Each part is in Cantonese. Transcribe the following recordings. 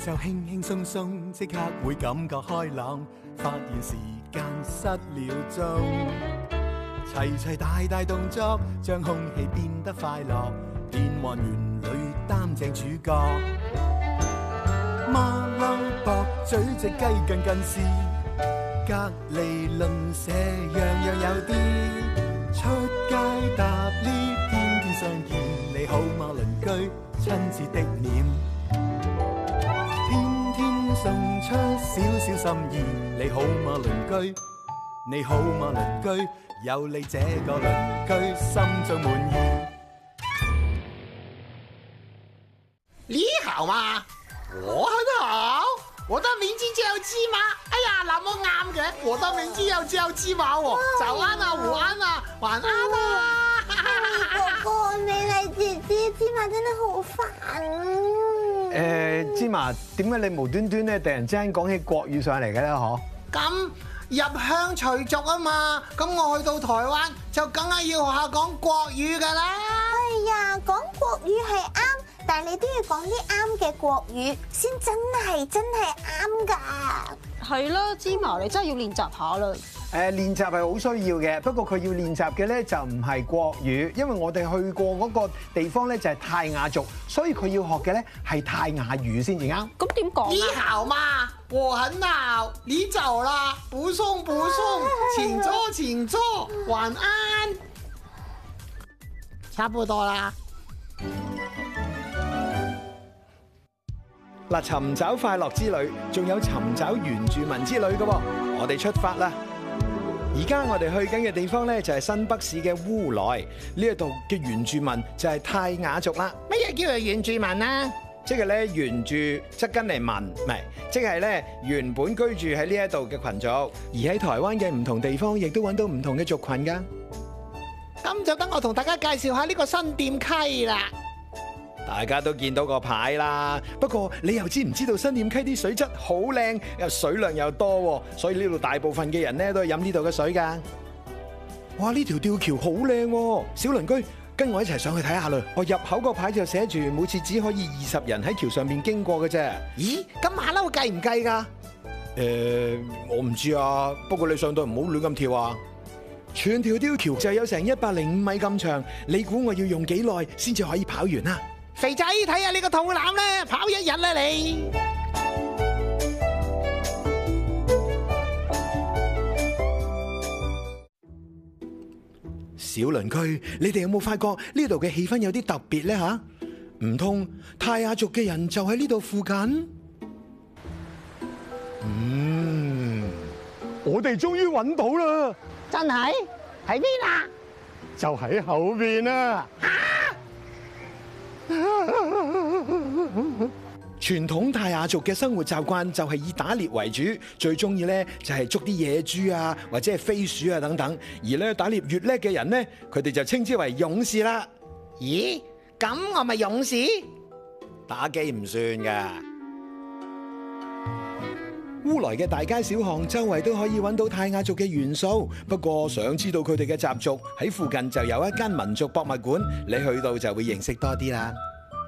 就輕輕鬆鬆，即刻會感覺開朗，發現時間失了蹤。齊齊大大動作，將空氣變得快樂，變幻園裏擔正主角。馬騮駁嘴隻雞近近視，隔離鄰舍樣樣有啲。出街搭 lift， 天天相見，你好嗎鄰居？親切的臉，天天送出少少心意，你好嗎鄰居？你好嗎鄰居？有你這個鄰居，心中滿意。 你好嗎？我很好，我的名字叫芝麻。哎呀，那麼啱嘅，我的名字又叫芝麻喎。早安啊，午安啊，晚安啊。 哥哥，你係姐姐，芝麻真係好煩。 芝麻，點解你無端端咧突然之間講起國語上嚟嘅咧？嗬？ 咁入鄉隨俗啊嘛，咁我去到台灣就梗係要學下講國語噶啦。 哎呀，講國語係啱，但係你都要講啲啱嘅國語，先真係啱㗎。 係啦，芝麻你真係要練習下啦。 練習係好需要嘅，不過佢要練習嘅咧就唔係國語，因為我哋去過嗰個地方咧就係泰雅族，所以佢要學嘅咧係泰雅語先至啱。 咁點講啊？ 你好嗎？我很好，你走啦，不送不送，請坐請坐，晚安。差不多啦。 嗱，尋找快樂之旅，仲有尋找原住民之旅嘅喎，我哋出發啦！而家我哋去緊嘅地方咧就係新北市嘅烏來，呢一度嘅原住民就係泰雅族啦。 乜嘢叫做原住民啊？ 即係咧原住則跟嚟民，唔係，即係咧原本居住喺呢一度嘅群族，而喺台灣嘅唔同地方亦都揾到唔同嘅族群㗎。 咁就等我同大家介紹下呢個新店溪啦。 大家都見到個牌啦，不過你又知唔知道新店溪啲水質好靚，又水量又多，所以呢度大部分嘅人咧都係飲呢度嘅水㗎。哇！呢條吊橋好靚，小鄰居跟我一齊上去睇下啦。我入口個牌就寫住每次只可以20人喺橋上面經過嘅啫。 咦？咁馬騮計唔計㗎？ 我唔知啊，不過你上到唔好亂咁跳啊！全條吊橋就有成105米咁長，你估我要用幾耐先至可以跑完啊？ 肥仔，睇下你個肚腩咧，跑1日啦你！ 小鄰居，你哋有冇發覺呢度嘅氣氛有啲特別咧吓？唔通泰雅族嘅人就喺呢度附近？我哋終於揾到啦！ 真係？喺邊啊？ 就喺後邊啊！傳統泰雅族嘅生活習慣就係以打獵為主，最中意咧就係捉啲野豬啊，或者係飛鼠啊等等。而咧打獵越叻嘅人咧，佢哋就稱之為勇士啦。 咦？咁我咪勇士？ 打機唔算噶。烏來嘅大街小巷周圍都可以揾到泰雅族嘅元素，不過想知道佢哋嘅習俗，喺附近就有一間民族博物館，你去到就會認識多啲啦。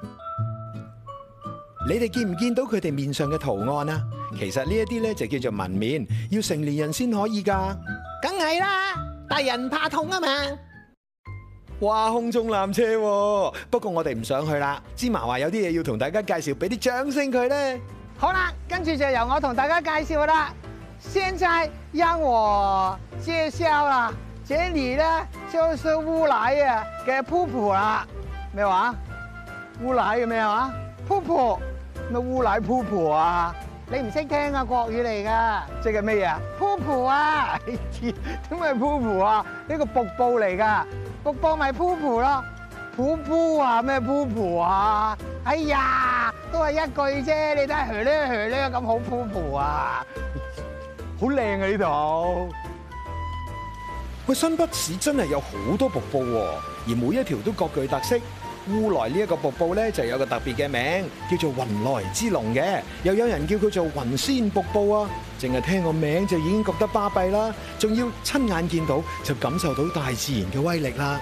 你哋見唔見到佢哋面上嘅圖案啊？其實呢一啲咧就叫做紋面，要成年人先可以噶。 梗係啦，大人怕痛啊嘛。 哇，空中纜車喎，不過我哋唔想去啦。芝麻話有啲嘢要同大家介紹，俾啲掌聲佢咧。 好啦，跟住就由我同大家介紹啦。現在讓我介紹啦，這裡呢就是烏來嘅瀑布啦。咩話？烏來嘅咩話？瀑布？咩烏來瀑布啊？你唔識聽啊，國語嚟噶。即係咩嘢？瀑布啊？點解瀑布啊？呢個瀑布嚟噶，瀑布咪瀑布咯。瀑布啊？咩瀑布啊？哎呀，都係一句啫，你睇下噓咧咁好瀑布啊，好靚啊呢度。 喂，新北市真係有好多瀑布喎，而每一條都各具特色。烏來呢一個瀑布咧就有個特別嘅名，叫做雲來之龍嘅，又有人叫佢做雲仙瀑布啊。淨係聽個名就已經覺得巴閉啦，仲要親眼見到就感受到大自然嘅威力啦。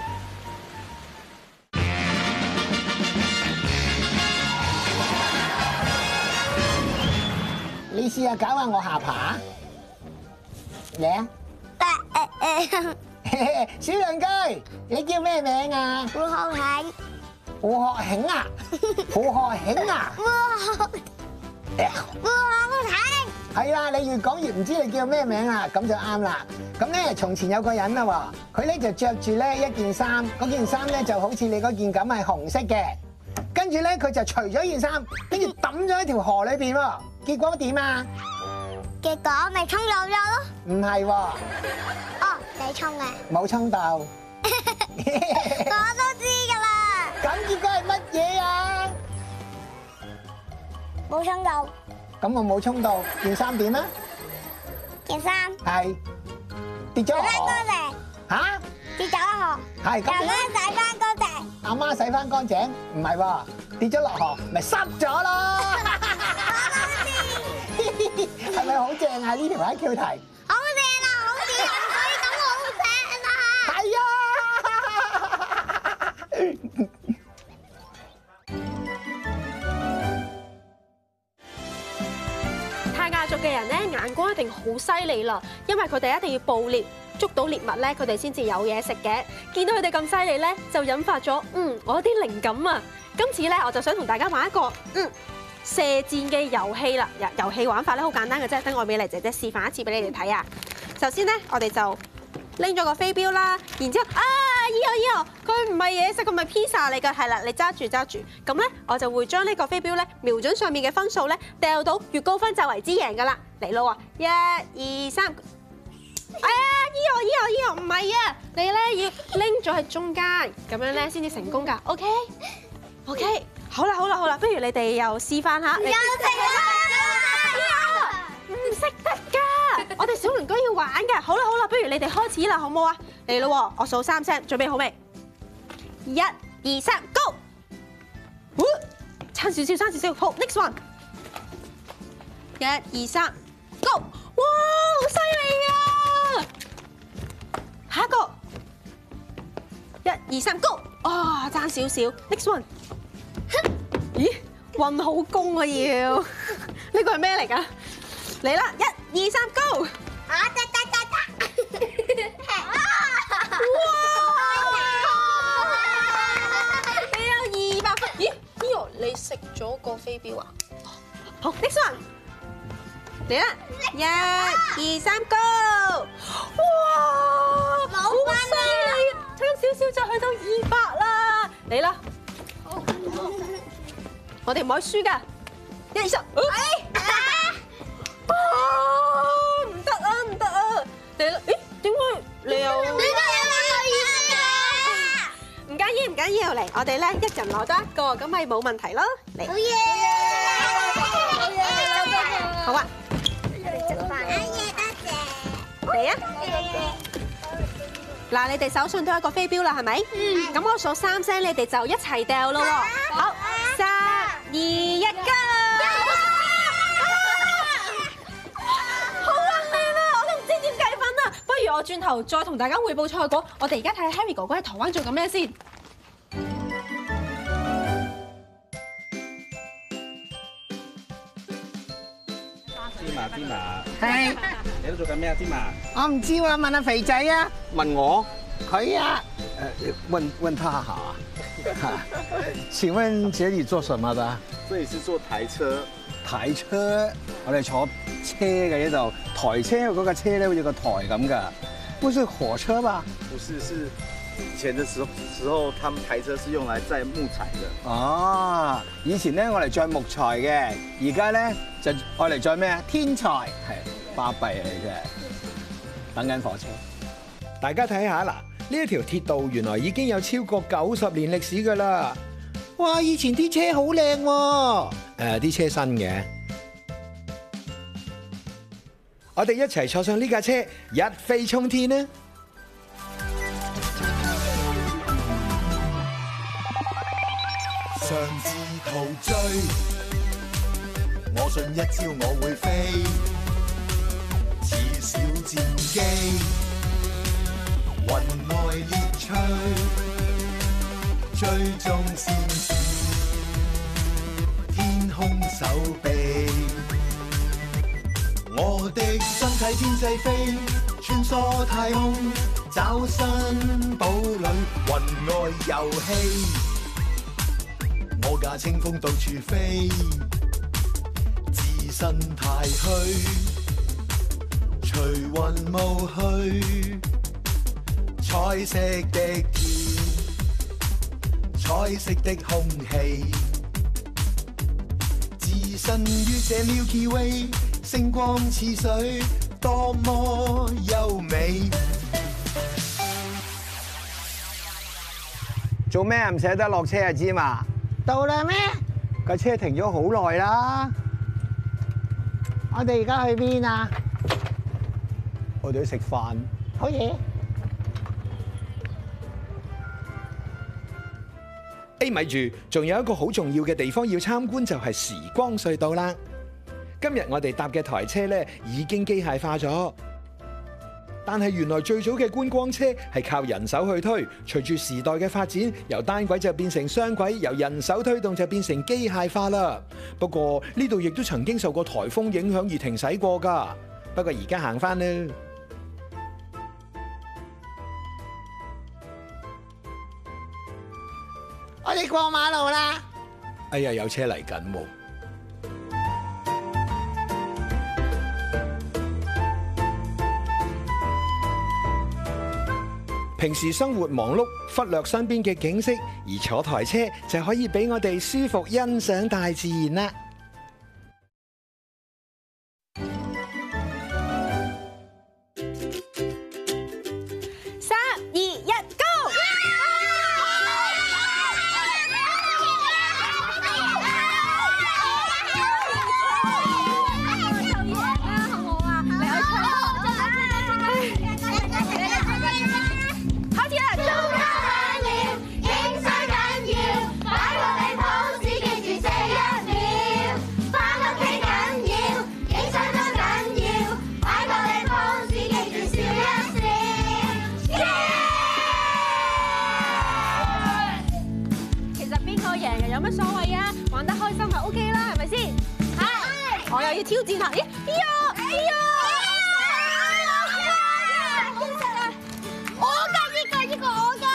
你試下搞下我下巴。嚟啊！小鄰居，你叫咩名啊？ 胡學慶， 胡學慶啊！胡學慶啊！ 胡學慶， 係啦，你越講越唔知你叫咩名啦，咁就啱啦。咁咧，從前有個人啦喎，佢咧就着住咧一件衫，嗰件衫咧就好似你嗰件咁係紅色嘅，跟住咧佢就除咗件衫，跟住抌咗喺條河裏邊喎，結果點啊？ 結果咪沖走咗咯。 唔係喎， 哦，你沖嘅， 冇沖到。 我都知㗎啦。 咁結果係乜嘢啊？ 冇沖到咁我冇沖到，件衫點啊？ 件衫， 係跌咗落洗翻河。 乾淨， 嚇？ 跌咗落河， 係咁由點啊？ 媽洗翻乾淨。 阿媽洗翻乾淨，唔係喎，跌咗落河，咪濕咗咯。係咪好正啊？呢條 IQ 題。 好正啊！好似人水咁好正啊！ 係啊！ 泰雅族嘅人咧眼光一定好犀利啦，因為佢哋一定要捕獵，捉到獵物咧，佢哋先至有嘢食嘅。見到佢哋咁犀利咧，就引發咗我有啲靈感啊！今次咧我就想同大家玩一個射箭嘅遊戲啦。遊戲玩法咧好簡單嘅啫，等我美麗姐姐示範一次俾你哋睇啊！首先咧，我哋就拎咗個飛鏢啦，然之後依個佢唔係嘢食，佢唔係披薩嚟㗎，係啦，你揸住，咁咧我就會將呢個飛鏢咧瞄準上面嘅分數咧，掉到越高分就為之贏㗎啦，嚟咯喎，1、2、3，依個唔係啊，你咧要拎咗喺中間，咁樣咧先至成功㗎，OK，好啦，不如你哋又示範下，唔識得㗎，我哋小鄰居要玩㗎。好啦，不如你哋開始啦，好唔好啊？嚟咯，我數3聲，準備好未？1、2、3 ，Go！ 差少少，好 ，next one。1、2、3 ，Go！ 哇，好犀利啊！下一個，1、2、3 ，Go！ 啊，爭少少 ，next one。咦，運好功啊要，呢個係咩嚟㗎？嚟啦！1、2、3 ，Go！ 你有200分。咦，Leo，你食咗個飛鏢啊？好 ，next one， 嚟啦！1、2、3 ，Go！ 哇，好犀利啊！差少少就去到200啦！嚟啦！我哋唔可以輸㗎！1、2、3，唔得啊！嚟啦！咦，點解你又？唔緊要，嚟，我哋咧一人攞多一個，咁咪冇問題咯。嚟，好啊！嚟啊！嗱，你哋手上都有一個飛鏢啦，係咪？咁我數3聲，你哋就一齊掉咯喎。好，3、2、1， Go！ 好靚啊！我都唔知點計分啊！不如我轉頭再同大家匯報賽果。我哋而家睇下 Harry 哥哥喺台灣做緊咩先。 芝麻， 係， 你喺度做緊咩啊？芝麻， 我唔知喎，問阿肥仔啊， 問我， 佢啊， 問他好啊。請問這裡做什麼的？ 這裡是做台車， 台車，我哋坐車嘅呢度，台車嗰個車咧好似個台咁噶，不是火車吧？ 不是，是以前的時候，他們台車是用來載木材的。 哦，以前咧我嚟載木材嘅，而家咧就愛嚟載咩啊？天才，係巴閉啊！你真係等緊火車。大家睇下嗱，呢一條鐵道原來已經有超過90年歷史㗎啦。哇！以前啲車好靚喎，啲車新嘅。我哋一齊坐上呢架車，一飛沖天啊！ 上至陶醉，我信一朝我會飛，似小戰機，雲外獵趣，追蹤先至，天空手臂， 我的身體天際飛，穿梭太空，找新堡壘，雲外遊戲。我駕清風到處飛，置身太虛，隨雲霧去，彩色的天，彩色的空氣，置身於這 Milky Way， 星光似水，多麼優美。 做咩唔捨得落車啊？芝麻到啦咩？架車停咗好耐啦。我哋而家去邊啊？我哋去食飯。好嘢。 咪住，仲有一個好重要嘅地方要參觀，就係時光隧道啦。今日我哋搭嘅台車咧已經機械化咗，但係原來最早嘅觀光車係靠人手去推，隨住時代嘅發展，由單軌就變成雙軌，由人手推動就變成機械化啦。不過呢度亦都曾經受過颱風影響而停駛過㗎，不過而家行返啦。 我哋過馬路啦。 哎呀，有車嚟緊喎！平時生活忙碌，忽略身邊嘅景色，而坐台車就可以俾我哋舒服欣賞大自然啦。 有乜所謂啊？玩得開心就 OK 啦，係咪先？係。我又要挑戰下，咦？哎呀！我㗎呢個我㗎。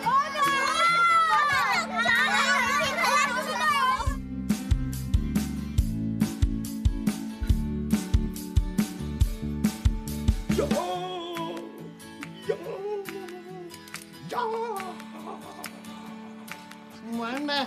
唔玩咩？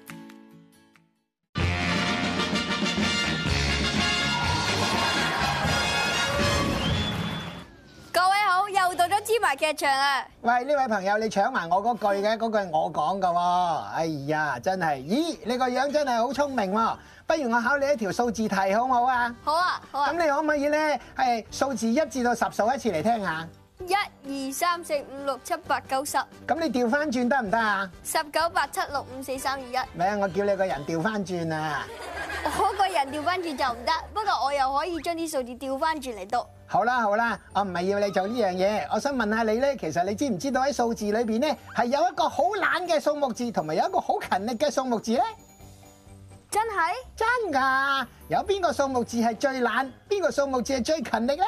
芝麻劇場啊！ 喂，呢位朋友，你搶埋我嗰句嘅，嗰句係我講㗎喎。哎呀，真係，咦，你個樣真係好聰明喎。不如我考你一條數字題好唔好啊？ 好啊，好啊。 咁你可唔可以咧係數字1至到10數一次嚟聽下 ？1、2、3、4、5、6、7、8、9、10。 咁你調翻轉得唔得啊 ？19、8、7、6、5、4、3、2、1。 唔係啊，我叫你個人調翻轉啊！ 我個人調翻轉就唔得，不過我又可以將啲數字調翻轉嚟讀。 好啦好啦，我唔係要你做呢樣嘢，我想問下你咧，其實你知唔知道喺數字裏邊咧係有一個好懶嘅數目字，同埋有一個好勤力嘅數目字咧？ 真係？ 真㗎！有邊個數目字係最懶？邊個數目字係最勤力咧？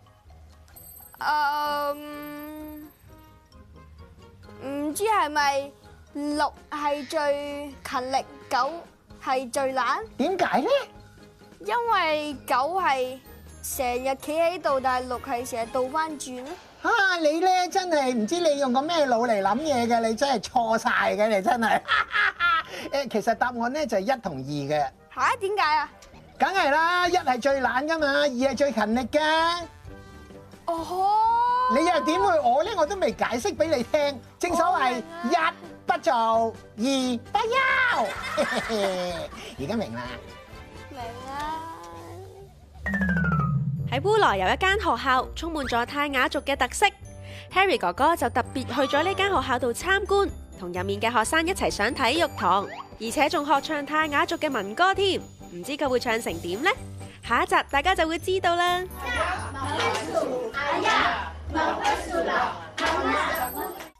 唔知係咪6係最勤力，9係最懶？點解咧？因為9係成日企喺度，但係6係成日倒翻轉咧。 啊！你咧真係唔知你用個咩腦嚟諗嘢嘅，你真係錯晒嘅，你真係。誒，其實答案咧就係1同2嘅。 嚇？點解啊？ 梗係啦，1係最懶噶嘛，2係最勤力㗎。 哦。 你又點會我咧？我都未解釋俾你聽。正所謂1不做2不休。而家明啦。 明啦。 喺烏來有一間學校，充滿咗泰雅族嘅特色。Harry 哥哥就特別去咗呢間學校度參觀，同入面嘅學生一齊上體育堂，而且仲學唱泰雅族嘅民歌添。唔知佢會唱成點呢？下一集大家就會知道啦。